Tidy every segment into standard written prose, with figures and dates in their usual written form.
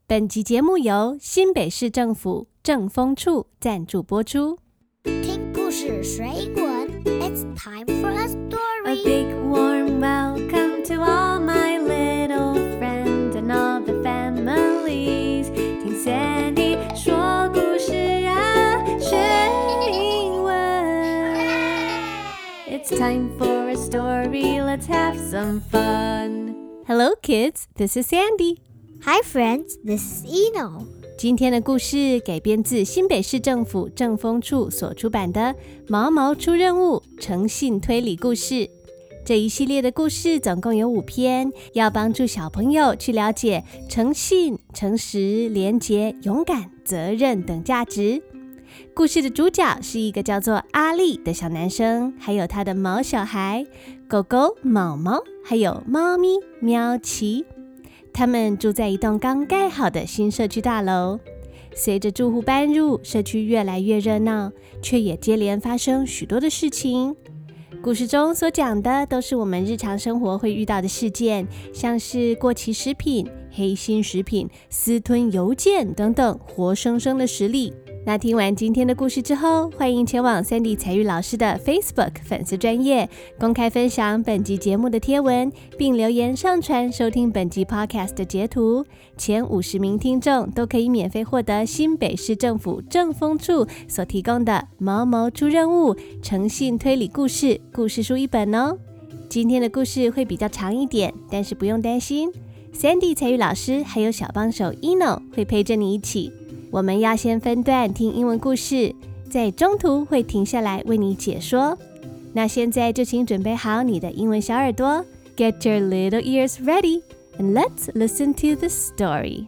本集節目由新北市政府政風處贊助播出。 聽故事學英文 It's time for a story. A big warm welcome to all my little friends and all the families. 聽 Sandy 說故事啊，學英文。It's time for a story, let's have some fun. Hello kids, this is Sandy.Hi friends, this is Eno. 今天的故事改編自新北市政府政風處所出版的《毛毛出任務：誠信推理故事》。這一系列的故事總共有5篇，要幫助小朋友去了解誠信、誠實、廉潔、勇敢、責任等價值。故事的主角是一個叫做阿力的小男生，還有他的毛小孩狗狗毛毛，還有貓咪喵奇。他們住在一棟剛蓋好的新社區大樓，隨着住戶搬入，社區越來越熱鬧，卻也接連發生許多的事情。故事中所講的都是我們日常生活會遇到的事件，像是過期食品、黑心食品、私吞郵件等等活生生的實例。那聽完今天的故事之後，歡迎前往Sandy才玉老師的 Facebook 粉絲專頁公開分享本集節目的貼文，並留言上傳收聽本集 Podcast 的截圖。前50名聽眾都可以免費獲得新北市政府政風處所提供的毛毛出任務：誠信推理故事故事書1本哦。今天的故事會比較長一點，但是不用擔心， Sandy 才玉老師還有小幫手 Eno 會陪着你一起。我們要先分段聽英文故事，在中途會停下來為你解說。那現在就請準備好你的英文小耳朵 Get your little ears ready and let's listen to the story.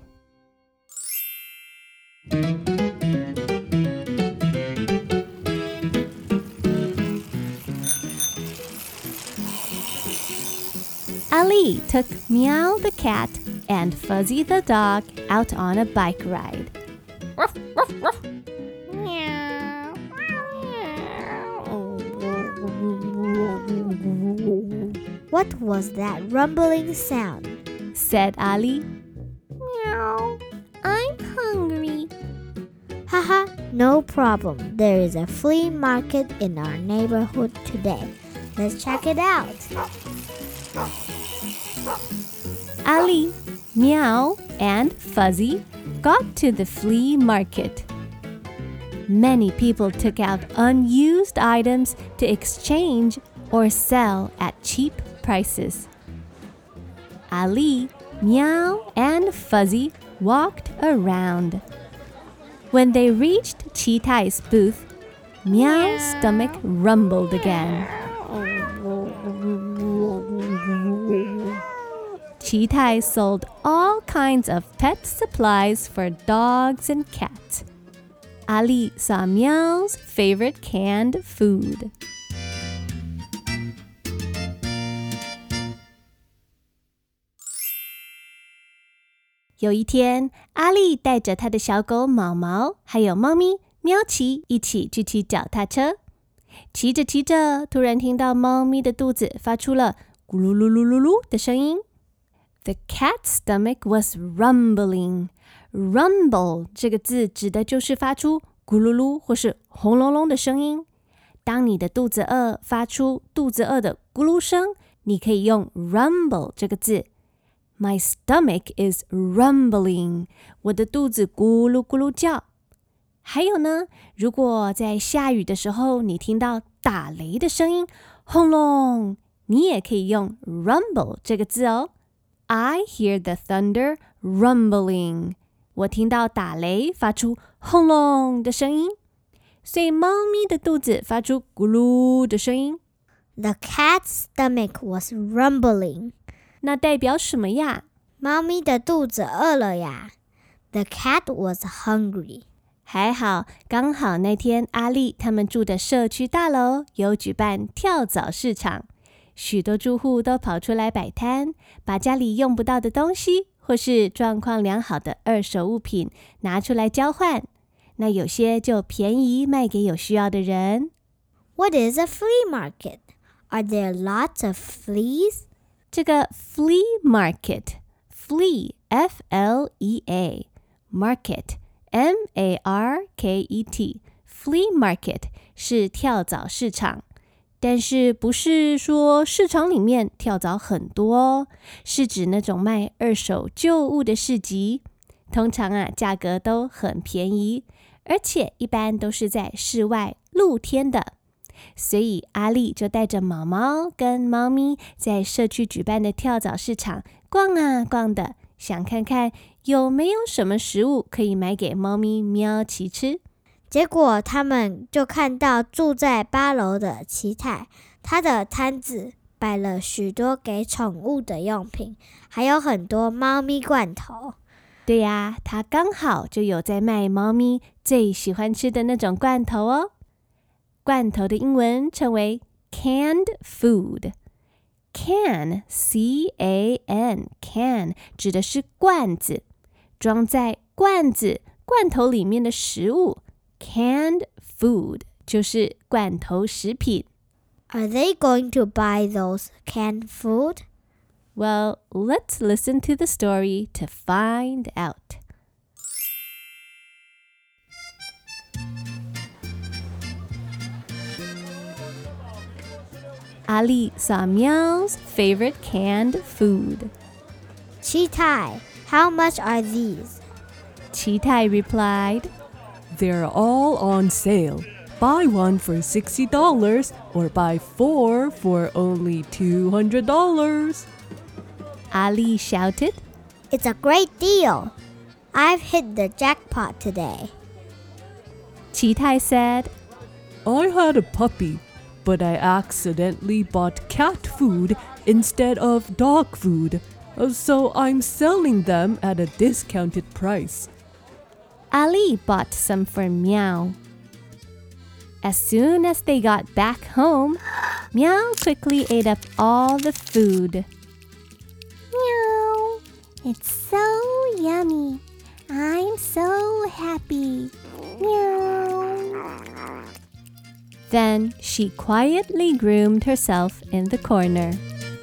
Ali took Meow the cat and Fuzzy the dog out on a bike ride.Ruff, ruff, ruff. Meow. What was that rumbling sound? Said Ali. Meow. I'm hungry. Haha, no problem. There is a flea market in our neighborhood today. Let's check it out. Ali, Meow, and Fuzzy got to the flea market. Many people took out unused items to exchange or sell at cheap prices. Ali, Meow, and Fuzzy walked around. When they reached Cheetah's booth, Meow's stomach rumbled again. Cheetah sold all kinds of pet supplies for dogs and cats. Ali saw Meow's favorite canned food. 有一天，阿力帶着他的小狗毛毛，還有貓咪喵奇一起去騎腳踏車。騎着騎着，突然聽到貓咪的肚子發出了咕嚕嚕嚕嚕嚕的聲音。The cat's stomach was rumbling. Rumble 這個字指的就是發出咕嚕嚕或是轟隆隆的聲音。當你的肚子餓，發出肚子餓的咕嚕聲，你可以用 rumble 這個字。My stomach is rumbling. 我的肚子咕嚕咕嚕叫。還有呢，如果在下雨的時候，你聽到打雷的聲音，轟隆，你也可以用 rumble 這個字哦。I hear the thunder rumbling. 我聽到打雷發出轟隆的聲音，所以貓咪的肚子發出咕嚕的聲音。 The cat's stomach was rumbling. 那代表什麼呀？ 貓咪的肚子餓了呀。The cat was hungry. 還好，剛好那天阿力他們住的社區大樓有舉辦跳蚤市場。許多住戶都跑出來擺攤，把家裡用不到的東西或是狀況良好的二手物品拿出來交換。那有些就便宜賣給有需要的人。 What is a flea market? Are there lots of fleas? 這個 flea market, flea, F-L-E-A, market, M-A-R-K-E-T, flea market 是跳蚤市場，但是不是說市場裡面跳蚤很多哦，是指那種賣二手舊物的市集。通常價格都很便宜，而且一般都是在室外露天的。所以阿麗就帶着毛毛跟貓咪在社區舉辦的跳蚤市場逛啊逛的，想看看有沒有什麼食物可以買給貓咪喵奇吃。 結果他們就看到住在8樓的奇泰，他的攤子擺了許多給寵物的用品，還有很多貓咪罐頭。 對呀，他剛好就有在賣貓咪最喜歡吃的那種罐頭哦。罐頭的英文稱為 canned food。Can, C-A-N, can 指的是罐子，裝在罐頭裡面的食物。Canned food 就是罐頭食品。 Are they going to buy those canned food? Well, let's listen to the story to find out. 阿麗 saw Meow's favorite canned food. Chitai, how much are these? Chitai replied, They're all on sale. Buy one for $60 or buy 4 for only $200. Ali shouted, It's a great deal. I've hit the jackpot today. Chitai said, I had a puppy, but I accidentally bought cat food instead of dog food, so I'm selling them at a discounted price. Ali bought some for Meow. As soon as they got back home, Meow quickly ate up all the food. Meow, it's so yummy. I'm so happy. Meow. Then she quietly groomed herself in the corner.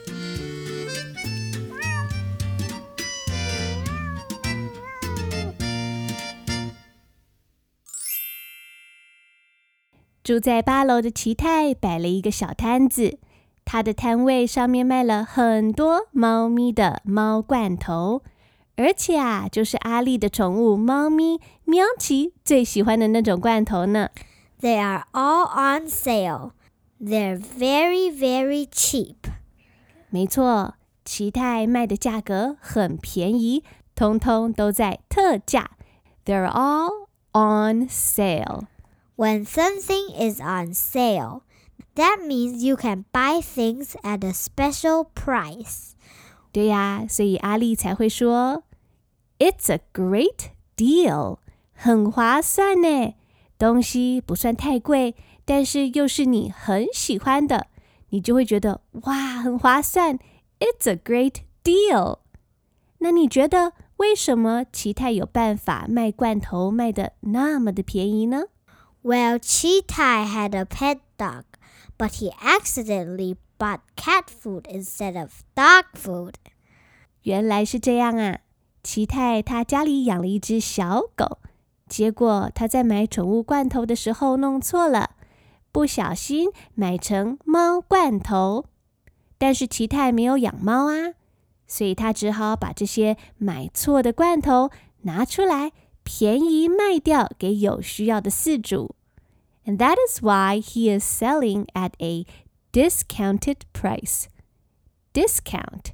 "住在8樓的奇泰擺了一個小攤子，他的攤位上面賣了很多貓咪的貓罐頭，而且就是阿麗的寵物貓咪喵奇最喜歡的那種罐頭呢。 They are all on sale. They're very, very cheap. 沒錯，奇泰賣的價格很便宜，通通都在特價。They're all on sale.When something is on sale, that means you can buy things at a special price. 對呀，所以阿麗才會說 It's a great deal. 很划算呢，東西不算太貴，但是又是你很喜歡的，你就會覺得哇，很划算。It's a great deal. 那你覺得為什麼奇泰有辦法賣罐頭賣得那麼的便宜呢 ？Well, Chitai had a pet dog, but he accidentally bought cat food instead of dog food. 原來是這樣啊！奇泰他家裡養了一隻小狗，結果他在買寵物罐頭的時候弄錯了，不小心買成貓罐頭。但是奇泰沒有養貓啊，所以他只好把這些買錯的罐頭拿出來便宜賣掉給有需要的飼主。And that is why he is selling at a discounted price. Discount,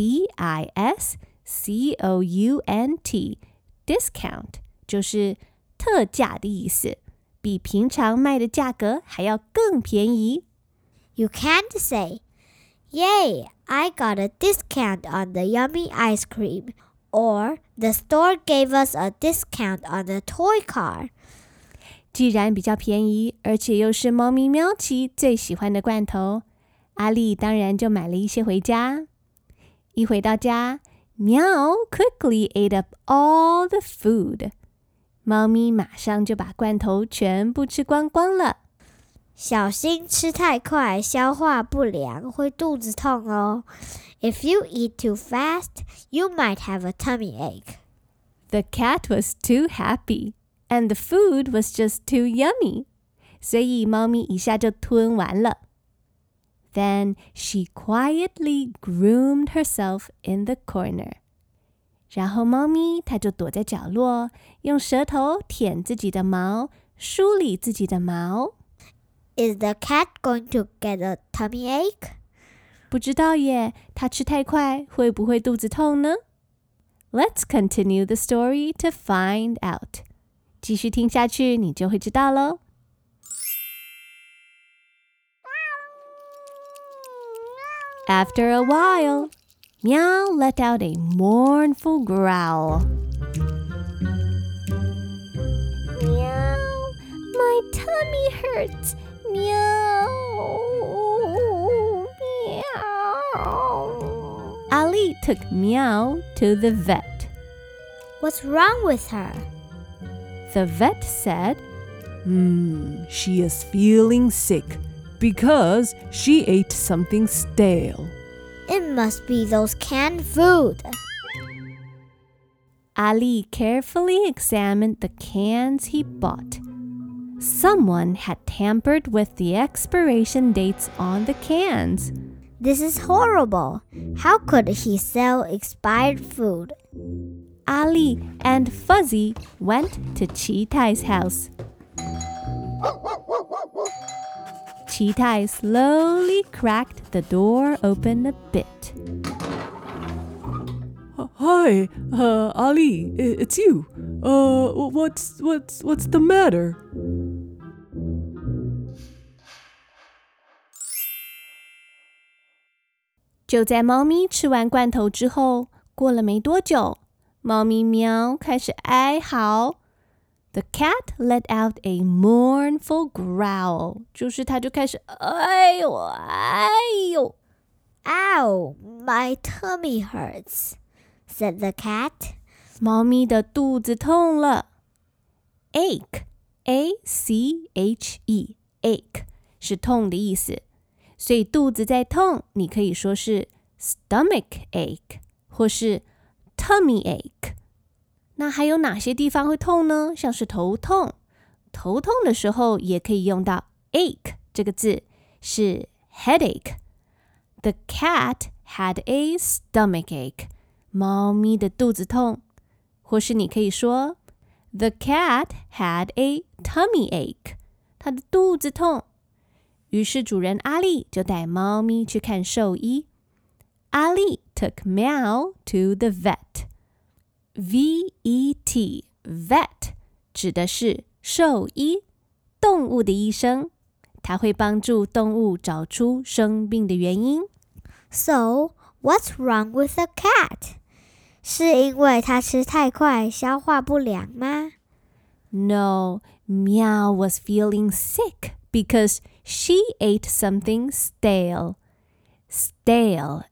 D-I-S-C-O-U-N-T, discount 就是特價的意思，比平常賣的價格還要更便宜。 You can't say, Yay, I got a discount on the yummy ice cream.Or the store gave us a discount on the toy car. 既然比較便宜，而且又是貓咪喵奇最喜歡的罐頭，阿麗當然就買了一些回家。一回到家，喵 quickly ate up all the food. 貓咪馬上就把罐頭全部吃光光了。 小心吃太快，消化不良，會肚子痛哦。If you eat too fast, you might have a tummy ache. The cat was too happy, and the food was just too yummy. 所以貓咪一下就吞完了。Then she quietly groomed herself in the corner. 然後貓咪它就躲在角落，用舌頭舔自己的毛，梳理自己的毛。 Is the cat going to get a tummy ache? 不知道耶，它吃太快，會不會肚子痛呢？ Let's continue the story to find out. 繼續聽下去，你就會知道咯。After a while, Meow let out a mournful growl. Meow, my tummy hurts. Meow, meow. Ali took Meow to the vet. What's wrong with her? The vet said, She is feeling sick.Because she ate something stale. It must be those canned food. Ali carefully examined the cans he bought. Someone had tampered with the expiration dates on the cans. This is horrible. How could he sell expired food? Ali and Fuzzy went to Cheetah's house. Cheetah slowly cracked the door open a bit. Hi, Ali, it's you. What's the matter? 就在猫咪吃完罐头之後，過了沒多久，貓咪喵開始哀嚎。The cat let out a mournful growl. 就是它就開始哎呦哎呦。 Ow, my tummy hurts, said the cat. 貓咪的肚子痛了。Ache, A-C-H-E, ache 是痛的意思。所以肚子在痛，你可以說是 stomach ache 或是 tummy ache。那還有哪些地方會痛呢？像是頭痛，頭痛的時候也可以用到 ache 這個字，是 headache。The cat had a stomach ache。貓咪的肚子痛，或是你可以說 The cat had a tummy ache。它的肚子痛。於是主人阿力就帶貓咪去看獸醫。阿力 took Meow to the vet。V-E-T, vet 指的是獸醫，動物的醫生，它會幫助動物找出生病的原因。 So, what's wrong with the cat? 是因為它吃太快，消化不良嗎？ No, Meow was feeling sick because she ate something stale. Stale,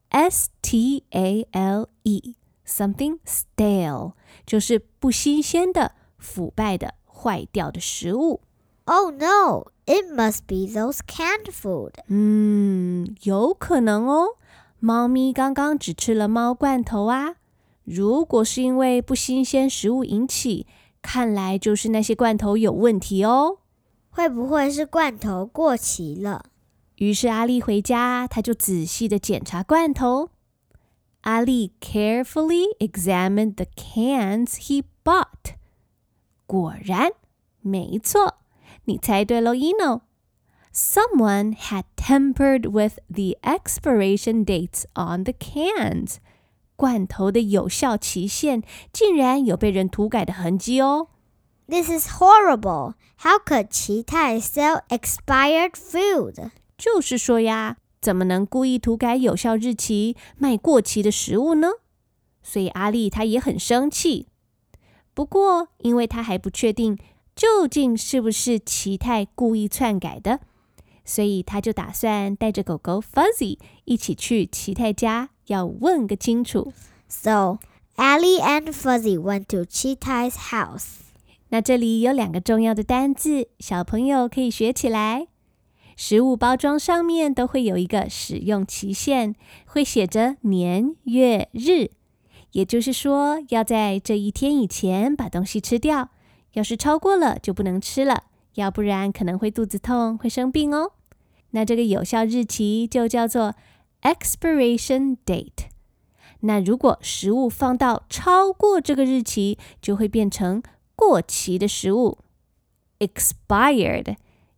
S-T-A-L-E.Something stale 就是不新鮮的、腐敗的、壞掉的食物。 Oh no, it must be those canned food. 有可能哦。貓咪剛剛只吃了貓罐頭啊。如果是因為不新鮮食物引起，看來就是那些罐頭有問題哦。 會不會是罐頭過期了？ 於是阿力回家，他就仔細的檢查罐頭。阿力 carefully examined the cans he bought. 果然，沒錯，你猜對咯 Eno. Someone had tampered with the expiration dates on the cans. 罐頭的有效期限竟然有被人塗改的痕跡哦。 This is horrible. How could Cheetah sell expired food? 就是說呀，怎麼能故意塗改有效日期，賣過期的食物呢？所以阿力他也很生氣。不過，因為他還不確定究竟是不是奇泰故意篡改的，所以他就打算帶着狗狗 Fuzzy 一起去奇泰家，要問個清楚。 So, Ali and Fuzzy went to Cheetah's house. 那這裡有2個重要的單字，小朋友可以學起來。食物包裝上面都會有一個使用期限，會寫着年月日， 也就是說，要在這一天以前把東西吃掉。要是超過了，就不能吃了，要不然可能會肚子痛，會生病哦。那這個有效日期就叫做 expiration date。那如果食物放到超過這個日期，就會變成過期的食物 expired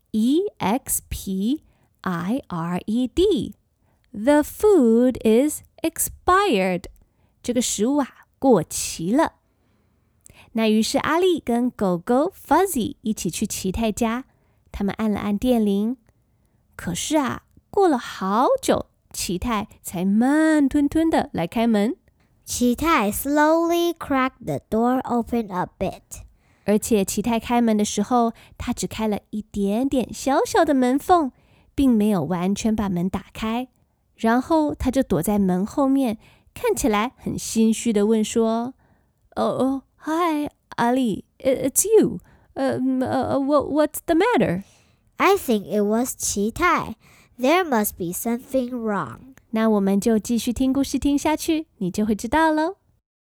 E-X-P-I-R-E-D The food is expired 這個食物過期了。那於是阿力跟狗狗 Fuzzy 一起去奇泰家，他們按了按電鈴，可是過了好久，奇泰才慢吞吞的來開門。 奇泰 slowly cracked the door open a bit。 而且奇泰開門的時候，他只開了一點點小小的門縫，並沒有完全把門打開。然後他就躲在門後面，看起來很心虛的問說：“Hi, Ali, it's you. What's the matter?” I think it was 奇泰。There must be something wrong. 那我們就繼續聽故事聽下去，你就會知道嘍。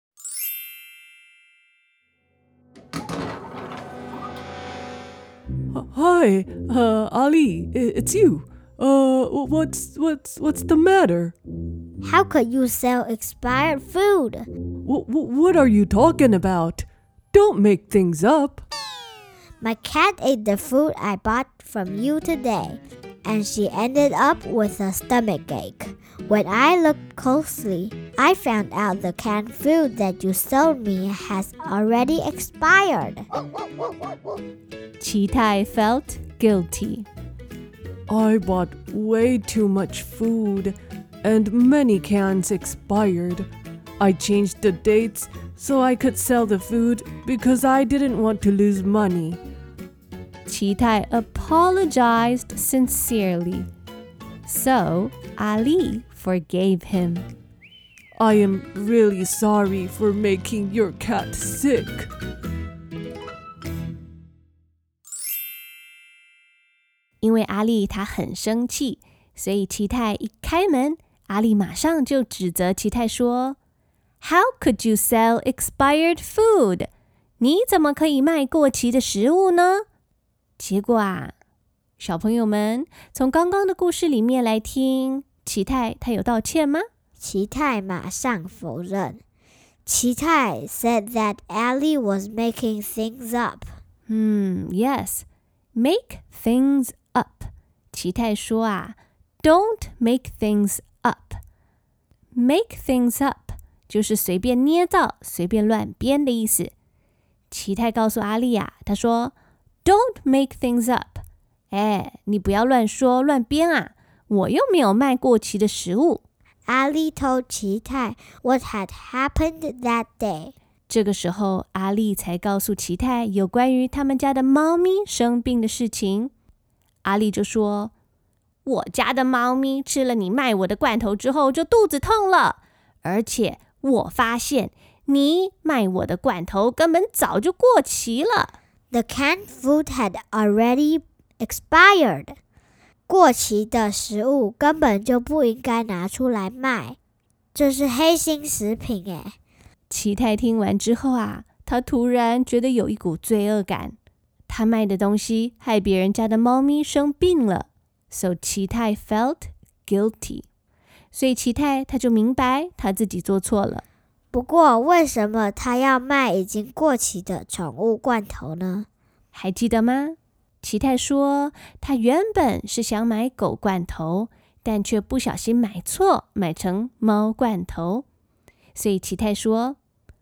Hi, Ali, it's you. What's the matter? How could you sell expired food? What are you talking about? Don't make things up. My cat ate the food I bought from you today, and she ended up with a stomachache. When I looked closely, I found out the canned food that you sold me has already expired. 奇泰 felt guilty. I bought way too much food, and many cans expired. I changed the dates so I could sell the food because I didn't want to lose money. 奇泰 apologized sincerely. So, Ali forgave him. I am really sorry for making your cat sick. 因為阿力他很生氣，所以奇泰一開門，阿力馬上就指責奇泰說 How could you sell expired food? 你怎麼可以賣過期的食物呢？結果小朋友們從剛剛的故事裡面來聽，奇泰他有道歉嗎？ 奇泰馬上否認。奇泰 said that Ali was making things up. Yes, make things up. 奇泰說Don't make things up. Make things up 就是隨便捏造、隨便亂編的意思。奇泰告訴阿力他說 Don't make things up. 你不要亂說亂編我又沒有賣過期的食物。 Ali told 奇泰 what had happened that day. 這個時候，阿力才告訴奇泰有關於他們家的貓咪生病的事情。阿力就說，我家的貓咪吃了你賣我的罐頭之後就肚子痛了，而且我發現你賣我的罐頭根本早就過期了。 The canned food had already expired. 過期的食物根本就不應該拿出來賣，這是黑心食品耶。 奇泰聽完之後他突然覺得有一股罪惡感，他賣的東西害別人家的貓咪生病了。So 奇泰 felt guilty. 所以奇泰他就明白他自己做錯了。 不過為什麼他要賣已經過期的寵物罐頭呢？ 還記得嗎？奇泰說他原本是想買狗罐頭，但卻不小心買錯，買成貓罐頭。所以奇泰說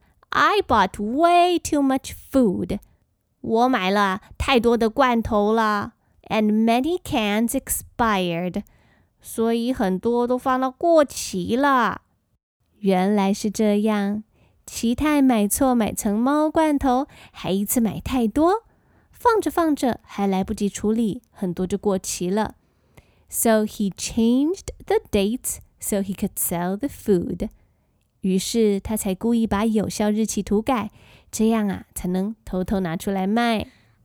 I bought way too much food. 我買了太多的罐頭了。And many cans expired. 所以很多都放到過期了。原來是這樣，奇泰買錯買成貓罐頭，還一次買太多，放着放着還來不及處理，很多就過期了。So he changed the dates so he could sell the food. 於是他才故意把有效日期塗改，這樣才能偷偷拿出來賣。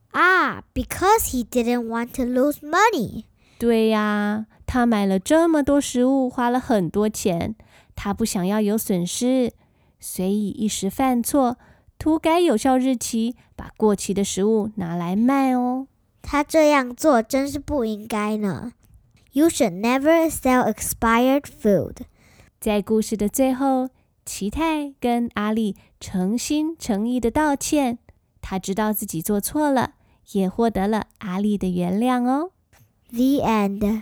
Because he didn't want to lose money. 對呀，他買了這麼多食物，花了很多錢，他不想要有損失， 所以一時犯錯，塗改有效日期，把過期的食物拿來賣哦。 他這樣做真是不應該呢。You should never sell expired food. 在故事的最後，奇泰跟阿力誠心誠意的道歉，他知道自己做錯了，也獲得了阿力的原諒哦。 The end.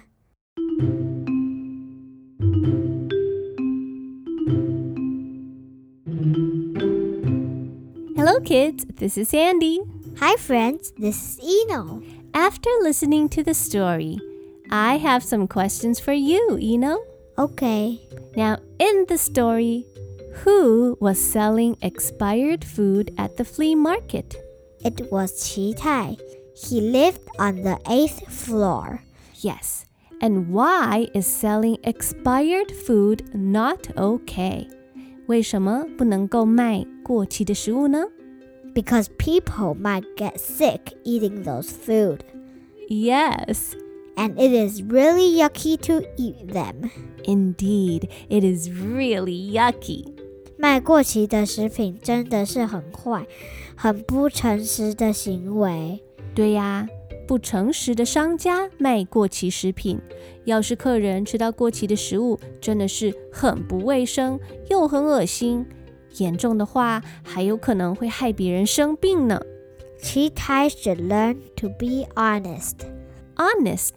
Hello kids, this is Sandy. Hi friends, this is Eno. After listening to the story, I have some questions for you, Eno. Okay. Now, in the story, who was selling expired food at the flea market? It was Qitai. He lived on the 8th floor. Yes. And why is selling expired food not okay? 為什麼不能夠賣過期的食物呢？ Because people might get sick eating those food. Yes. And it is really yucky to eat them. Indeed, it is really yucky. 賣過期的食品真的是很壞，很不誠實的行為。 對呀，不誠實的商家賣過期食品，要是客人吃到過期的食物，真的是很不衛生，又很惡心。嚴重的話，還有可能會害別人生病呢。 Qitai should learn to be honest. Honest,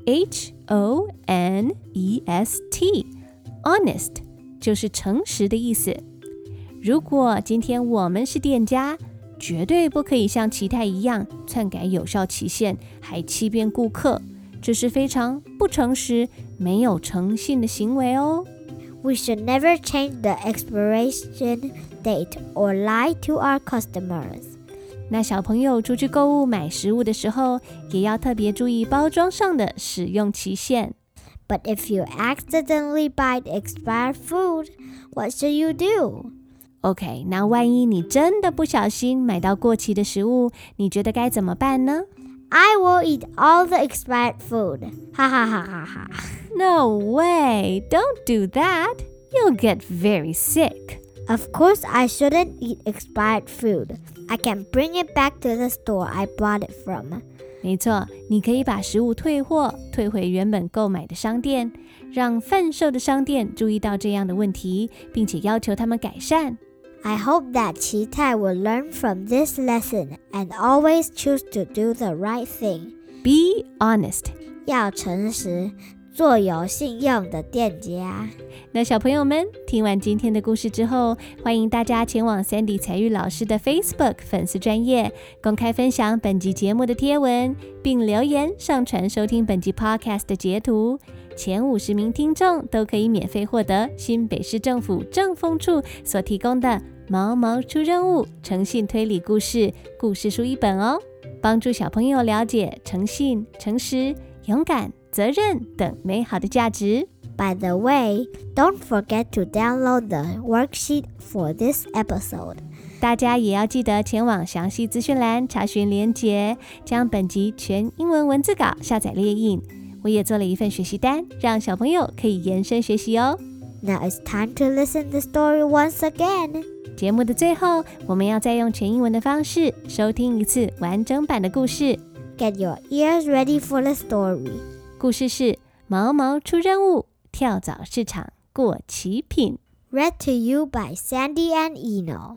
H-O-N-E-S-T. Honest 就是誠實的意思。如果今天我們是店家，絕對不可以像奇泰一樣篡改有效期限，還欺騙顧客，這是非常不誠實、沒有誠信的行為哦。 We should never change the expiration date or lie to our customers. 那小朋友出去購物買食物的時候，也要特別注意包裝上的使用期限。 But if you accidentally buy expired food, what should you do? OK, 那萬一你真的不小心買到過期的食物，你覺得該怎麼辦呢？ I will eat all the expired food. Ha ha ha ha ha. No way! Don't do that. You'll get very sick. Of course, I shouldn't eat expired food. I can bring it back to the store I bought it from. 沒錯，你可以把食物退貨，退回原本購買的商店，讓販售的商店注意到這樣的問題，並且要求他們改善。 I hope that Qitai will learn from this lesson and always choose to do the right thing. Be honest. 要誠實，做有信用的店家。 那小朋友們，聽完今天的故事之後，歡迎大家前往 Sandy 采玉老師的 Facebook 粉絲專頁，公開分享本集節目的貼文，並留言上傳收聽本集 Podcast 的截圖。前50名聽眾都可以免費獲得新北市政府政風處所提供的毛毛出任務誠信推理故事故事書1本哦，幫助小朋友了解誠信、誠實、勇敢、責任等美好的價值。 By the way, don't forget to download the worksheet for this episode. 大家也要記得前往詳細資訊欄查詢連結，將本集全英文文字稿下載列印。我也做了一份學習單，讓小朋友可以延伸學習哦。 Now it's time to listen the story once again. 節目的最後，我們要再用全英文的方式收聽一次完整版的故事。 Get your ears ready for the story. 故事是毛毛出任務，跳蚤市場過期品。 Read to you by Sandy and Eno.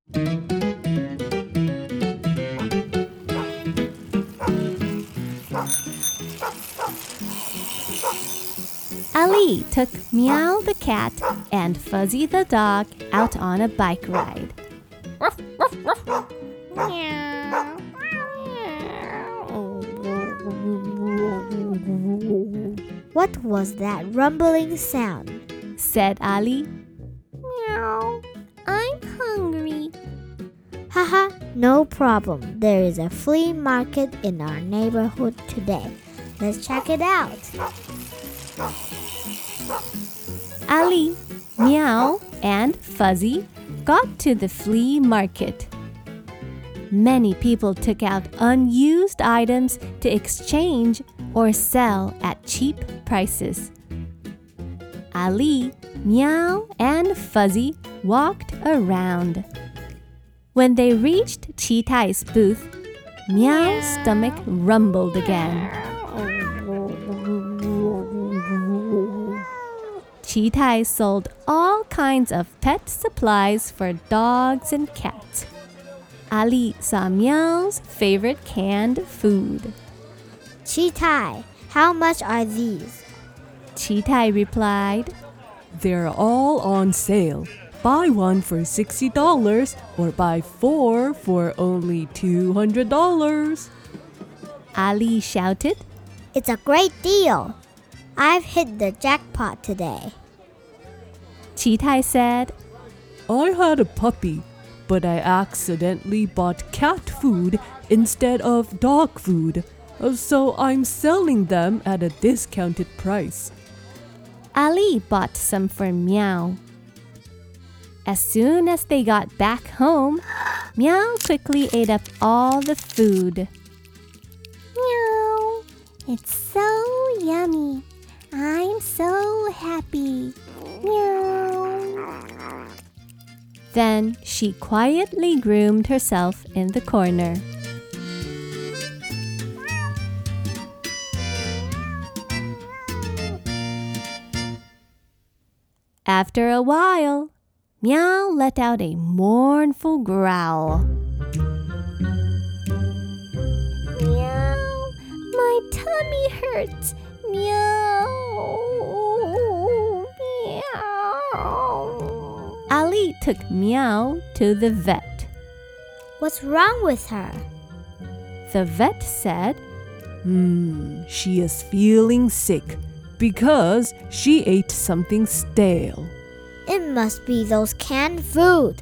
Ali took Meow the cat and Fuzzy the dog out on a bike ride. What was that rumbling sound? Said Ali. Meow, I'm hungry. Haha, no problem. There is a flea market in our neighborhood today. Let's check it out. Ali, Meow, and Fuzzy got to the flea market. Many people took out unused items to exchange or sell at cheap prices. Ali, Meow, and Fuzzy walked around. When they reached Cheetai's booth, Meow's stomach rumbled again. Cheetai sold all kinds of pet supplies for dogs and cats. Ali saw Meow's favorite canned food. Cheetah, how much are these? Cheetah replied, They're all on sale. Buy one for $60 or buy 4 for only $200. Ali shouted. It's a great deal. I've hit the jackpot today. Cheetah said, I had a puppy, but I accidentally bought cat food instead of dog food, so I'm selling them at a discounted price. Ali bought some for Meow. As soon as they got back home, Meow quickly ate up all the food. Meow, it's so yummy. I'm so happy. Meow. Then she quietly groomed herself in the corner. After a while, Meow let out a mournful growl. Meow, my tummy hurts. Meow. Meow. Ali took Meow to the vet. What's wrong with her? The vet said, She is feeling sick because she ate something stale. It must be those canned food.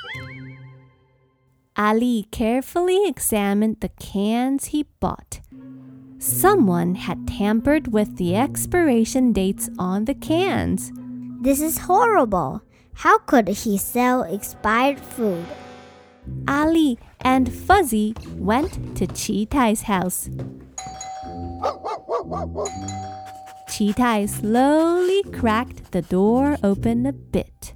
Ali carefully examined the cans he bought. Someone had tampered with the expiration dates on the cans. This is horrible. How could he sell expired food? Ali and Fuzzy went to Cheetah's house. Cheetah slowly cracked the door open a bit.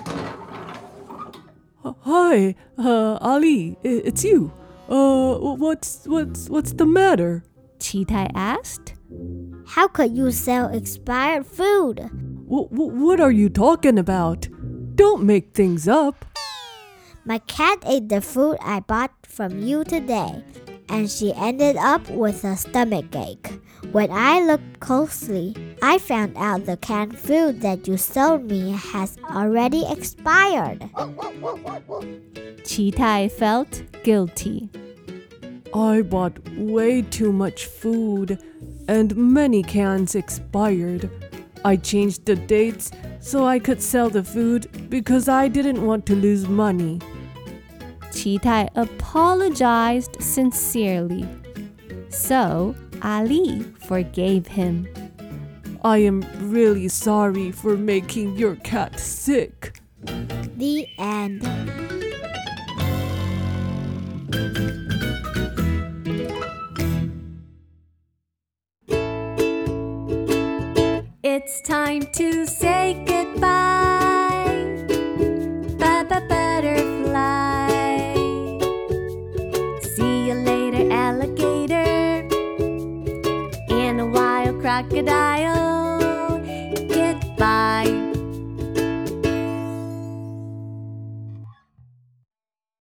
Hi, Ali, it's you. What's the matter? Cheetah asked. How could you sell expired food? What are you talking about? Don't make things up. My cat ate the food I bought from you today, and she ended up with a stomachache. When I looked closely, I found out the canned food that you sold me has already expired. Cheetah felt guilty. I bought way too much food, and many cans expired. I changed the dates so I could sell the food because I didn't want to lose money. Cheetah apologized sincerely. So Ali forgave him. I am really sorry for making your cat sick. The end. It's time to say goodbye. Baba butterfly. See you later, alligator. And a wild crocodile.